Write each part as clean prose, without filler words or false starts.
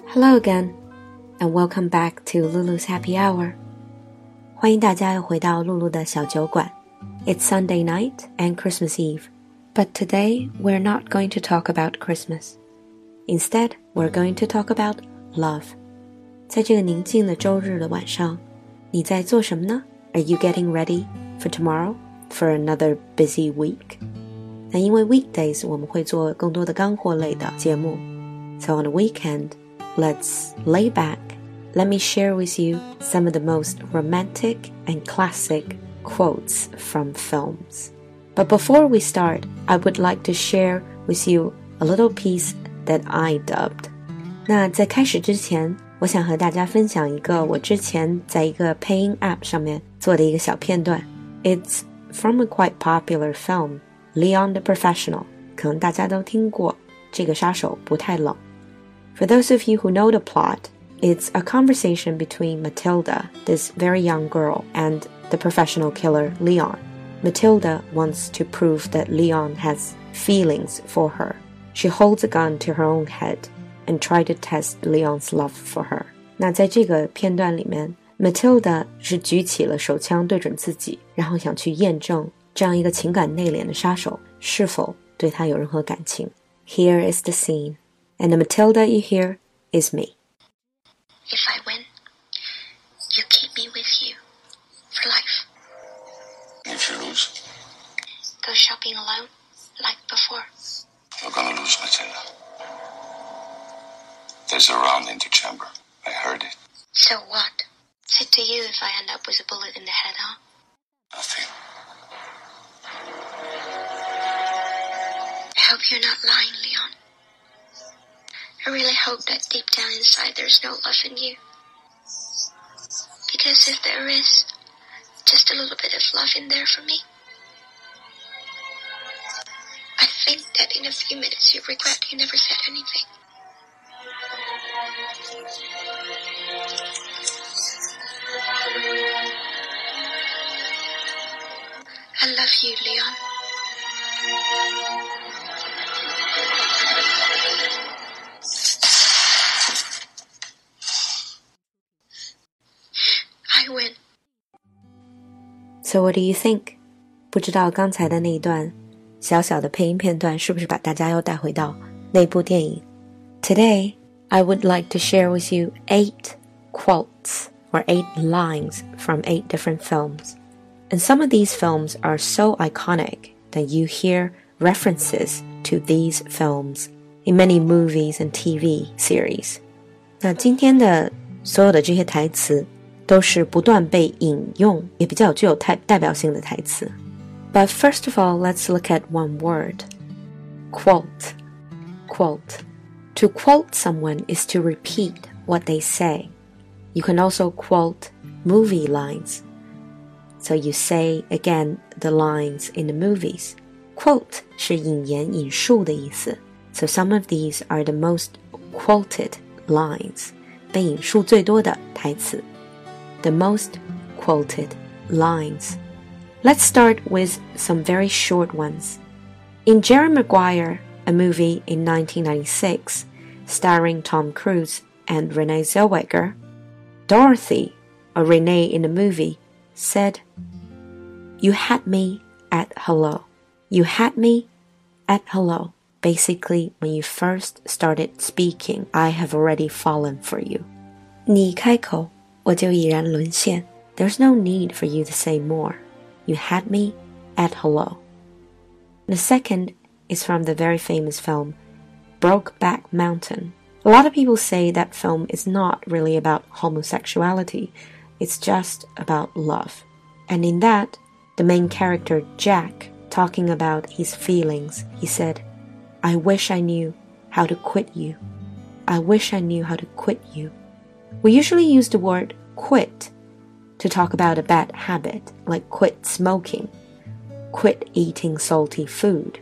Hello again, and welcome back to Lulu's Happy Hour. 欢迎大家又回到露露的小酒馆。It's Sunday night and Christmas Eve, but today we're not going to talk about Christmas. Instead, we're going to talk about love. 在这个宁静的周日的晚上，你在做什么呢？ Are you getting ready for tomorrow, for another busy week? 那因为 weekdays 我们会做更多的干货类的节目 So on the weekend,Let's lay back. Let me share with you some of the most romantic and classic quotes from films. But before we start, I would like to share with you a little piece that I dubbed. 那在开始之前，我想和大家分享一个我之前在一个配音 app 上面做的一个小片段。It's from a quite popular film, Leon the Professional. 可能大家都听过，这个杀手不太冷。For those of you who know the plot, it's a conversation between Matilda, this very young girl, and the professional killer, Leon. Matilda wants to prove that Leon has feelings for her. She holds a gun to her own head and tries to test Leon's love for her. 那在这个片段里面 Matilda 是举起了手枪对准自己，然后想去验证这样一个情感内敛的杀手是否对她有任何感情。Here is the scene.And the Matilda you hear is me. If I win, you keep me with you for life. If you lose? Go shopping alone, like before. You're gonna lose, Matilda. There's a round in the chamber. I heard it. So what? Is it to you if I end up with a bullet in the head, huh? Nothing. I hope you're not lying, Leon.I really hope that deep down inside there's no love in you. Because if there is, just a little bit of love in there for me. I think that in a few minutes you'll regret you never said anything. I love you, Leon.I win. So what do you think? 不知道刚才的那一段小小的配音片段是不是把大家又带回到那部电影 Today, I would like to share with you 8 quotes or 8 lines from 8 different films. And some of these films are so iconic that you hear references to these films in many movies and TV series. 那今天的所有的这些台词都是不断被引用，也比较具有代表性的台词。But first of all, let's look at one word. Quote. Quote. To quote someone is to repeat what they say. You can also quote movie lines. So you say again the lines in the movies. Quote 是引言引述的意思。So some of these are the most quoted lines. 被引述最多的台词。The most quoted lines. Let's start with some very short ones. In Jerry Maguire, a movie in 1996, starring Tom Cruise and Renee Zellweger, Dorothy, or Renee in the movie, said, "You had me at hello. You had me at hello." Basically, when you first started speaking, I have already fallen for you. 你开口我就已然沦陷 There's no need for you to say more. You had me at hello. The second is from the very famous film, Brokeback Mountain. A lot of people say that film is not really about homosexuality. It's just about love. And in that, the main character, Jack, talking about his feelings, he said, I wish I knew how to quit you. I wish I knew how to quit you. We usually use the word quit to talk about a bad habit, like quit smoking, quit eating salty food.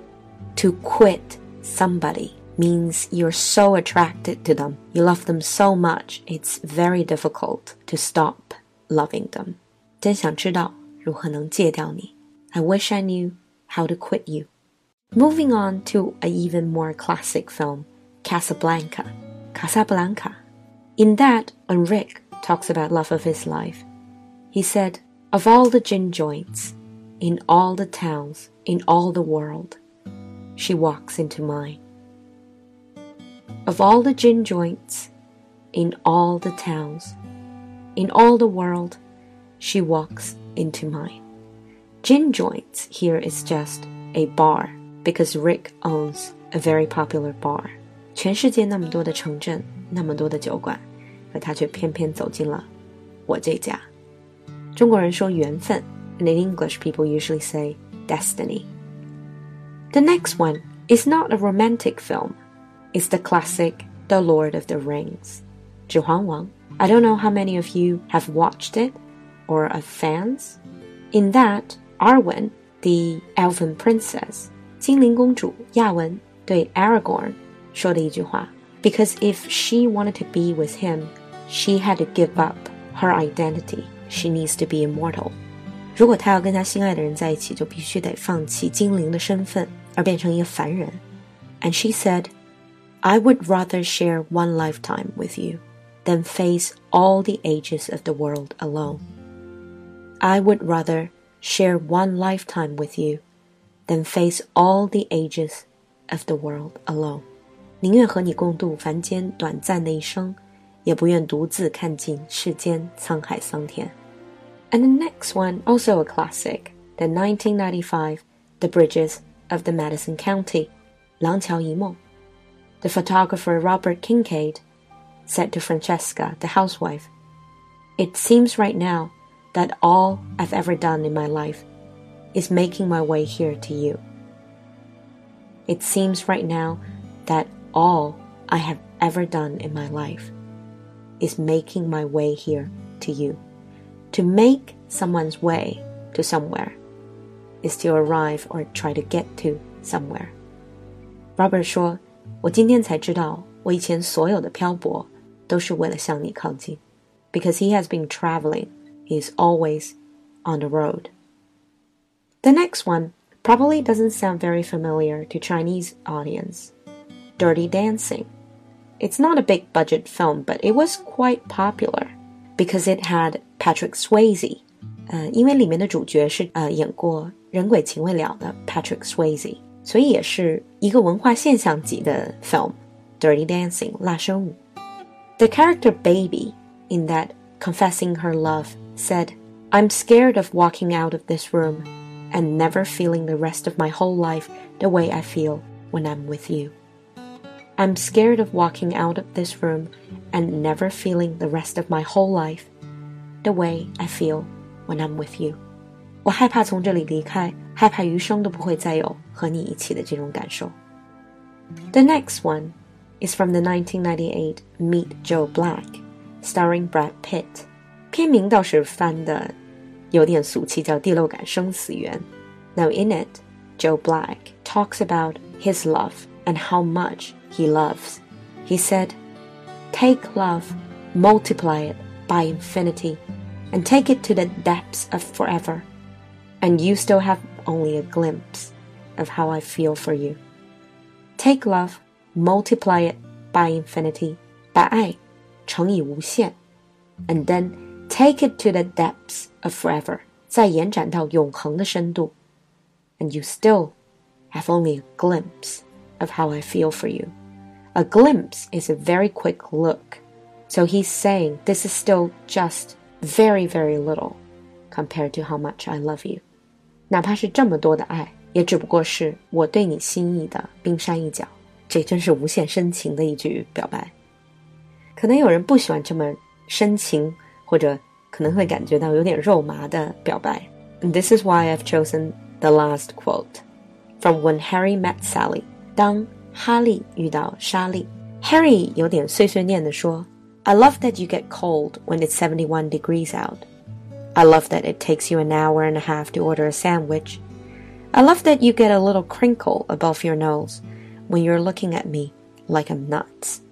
To quit somebody means you're so attracted to them, you love them so much, it's very difficult to stop loving them. 真想知道如何能戒掉你 I wish I knew how to quit you. Moving on to an even more classic film, Casablanca. 卡萨布兰卡. In that, when Rick talks about love of his life, he said, of all the gin joints, in all the towns, in all the world, she walks into mine. Of all the gin joints, in all the towns, in all the world, she walks into mine. Gin joints here is just a bar, because Rick owns a very popular bar. 全世界那么多的城镇，那么多的酒馆，可他却偏偏走进了我这家。中国人说缘分 and in English people usually say destiny. The next one is not a romantic film. It's the classic The Lord of the Rings. 指环王. I don't know how many of you have watched it or are fans. In that, Arwen, the elven princess, 精灵公主亚文对 Aragorn 说的一句话 Because if she wanted to be with him, she had to give up her identity. She needs to be immortal. 如果她要跟她心爱的人在一起，就必须得放弃精灵的身份，而变成一个凡人。And she said, I would rather share one lifetime with you than face all the ages of the world alone. I would rather share one lifetime with you than face all the ages of the world alone. 宁愿和你共度凡间短暂的一生，也不愿独自看尽世间沧海桑田。And the next one, also a classic, the 1995 The Bridges of the Madison County, 廊桥遗梦. The photographer Robert Kincaid said to Francesca, the housewife, It seems right now that all I've ever done in my life is making my way here to you. It seems right now that all I have ever done in my life is making my way here to you. To make someone's way to somewhere is to arrive or try to get to somewhere. Robert 说，我今天才知道，我以前所有的漂泊都是为了向你靠近。Because he has been traveling, he is always on the road. The next one probably doesn't sound very familiar to Chinese audience. Dirty Dancing. It's not a big budget film, but it was quite popular because it had Patrick Swayze. 因为里面的主角是演过《人鬼情未了》的 Patrick Swayze， 所以也是一个文化现象级的 film. Dirty Dancing, 辣身舞. The character Baby in that confessing her love said, I'm scared of walking out of this room and never feeling the rest of my whole life the way I feel when I'm with you. I'm scared of walking out of this room and never feeling the rest of my whole life the way I feel when I'm with you. 我害怕从这里离开，害怕余生都不会再有和你一起的这种感受。The next one is from the 1998 Meet Joe Black, starring Brad Pitt. 片名倒是翻的有点俗气，叫《第六感生死缘》。Now in it, Joe Black talks about his love and how much he loves. He said, Take love, multiply it by infinity, and take it to the depths of forever, and you still have only a glimpse of how I feel for you. Take love, multiply it by infinity, 把爱乘以无限 and then take it to the depths of forever, 再延展到永恒的深度 and you still have only a glimpse of how I feel for you. A glimpse is a very quick look, so he's saying this is still just very, very little compared to how much I love you. 哪怕是这么多的爱，也只不过是我对你心意的冰山一角。这真是无限深情的一句表白。可能有人不喜欢这么深情，或者可能会感觉到有点肉麻的表白。And this is why I've chosen the last quote from When Harry Met Sally. 当哈利遇到莎莉 Harry 有点碎碎念地说 I love that you get cold when it's 71 degrees out. I love that it takes you an hour and a half to order a sandwich. I love that you get a little crinkle above your nose when you're looking at me like I'm nuts.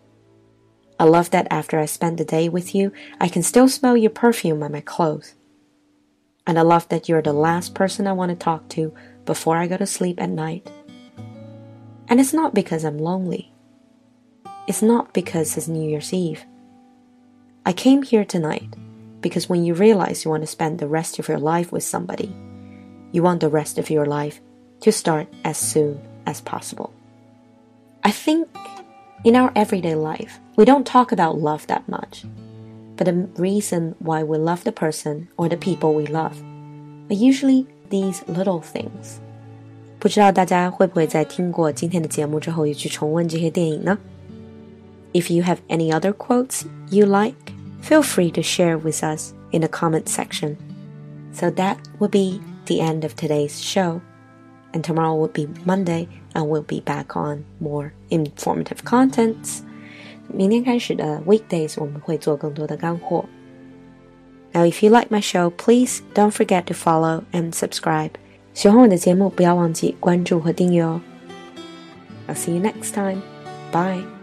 I love that after I spend the day with you, I can still smell your perfume on my clothes. And I love that you're the last person I want to talk to before I go to sleep at night. And it's not because I'm lonely. it's not because it's New Year's Eve. I came here tonight because when you realize you want to spend the rest of your life with somebody, you want the rest of your life to start as soon as possible. I think in our everyday life, we don't talk about love that much, but the reason why we love the person or the people we love are usually these little things. 不知道大家会不会在听过今天的节目之后也去重温这些电影呢？ If you have any other quotes you like, feel free to share with us in the comment section. So that will be the end of today's show. And tomorrow will be Monday, and we'll be back on more informative contents. 明天开始的 weekdays 我们会做更多的干货。Now, if you like my show, please don't forget to follow and subscribe. 喜欢我的节目，不要忘记关注和订阅哦。I'll see you next time. Bye.